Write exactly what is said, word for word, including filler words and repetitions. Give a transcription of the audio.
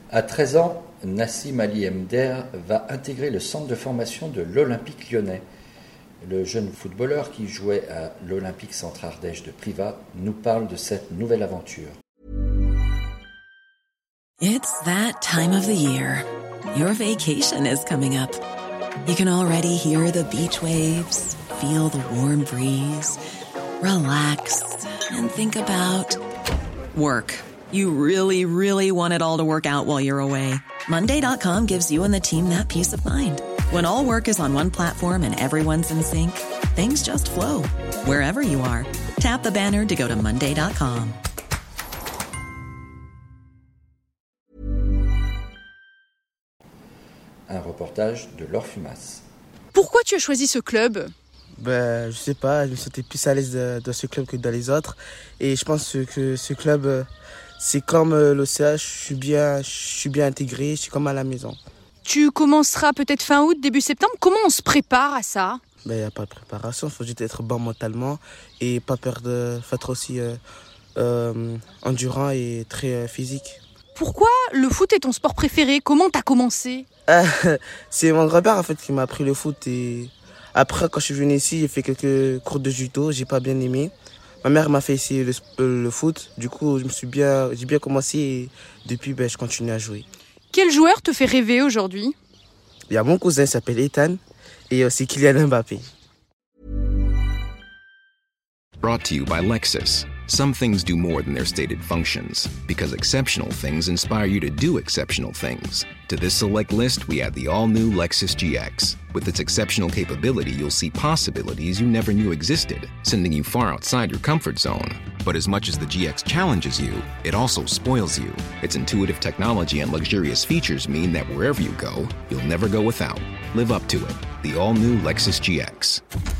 À treize ans, Nassim Ali Mder va intégrer le centre de formation de l'Olympique lyonnais. Le jeune footballeur qui jouait à l'Olympique Centre Ardèche de Privas nous parle de cette nouvelle aventure. It's that time of the year. Your vacation is coming up. You can already hear the beach waves, feel the warm breeze, relax and think about work. You really, really want it all to work out while you're away. Monday dot com gives you and the team that peace of mind. When all work is on one platform and everyone's in sync, things just flow. Wherever you are, tap the banner to go to Monday dot com. Un reportage de Laure Fumas. Pourquoi tu as choisi ce club ? Ben, je sais pas, je me sentais plus à l'aise dans ce club que dans les autres. Et je pense que ce club, c'est comme l'O C H, je suis bien, je suis bien intégré, je suis comme à la maison. Tu commenceras peut-être fin août, début septembre. Comment on se prépare à ça ? Ben, il n'y a pas de préparation, il faut juste être bon mentalement et pas peur de faut être aussi euh, euh, endurant et très euh, physique. Pourquoi le foot est ton sport préféré ? Comment t'as commencé ? C'est mon grand-père en fait qui m'a appris le foot et après quand je suis venu ici j'ai fait quelques cours de judo, j'ai pas bien aimé. Ma mère m'a fait essayer le, le foot, du coup je me suis bien, j'ai bien commencé et depuis ben, je continue à jouer. Quel joueur te fait rêver aujourd'hui ? Il y a mon cousin, il s'appelle Ethan et aussi Kylian Mbappé. Brought to you by Lexus. Some things do more than their stated functions, because exceptional things inspire you to do exceptional things. To this select list, we add the all-new Lexus G X. With its exceptional capability, you'll see possibilities you never knew existed, sending you far outside your comfort zone. But as much as the G X challenges you, it also spoils you. Its intuitive technology and luxurious features mean that wherever you go, you'll never go without. Live up to it. The all-new Lexus G X.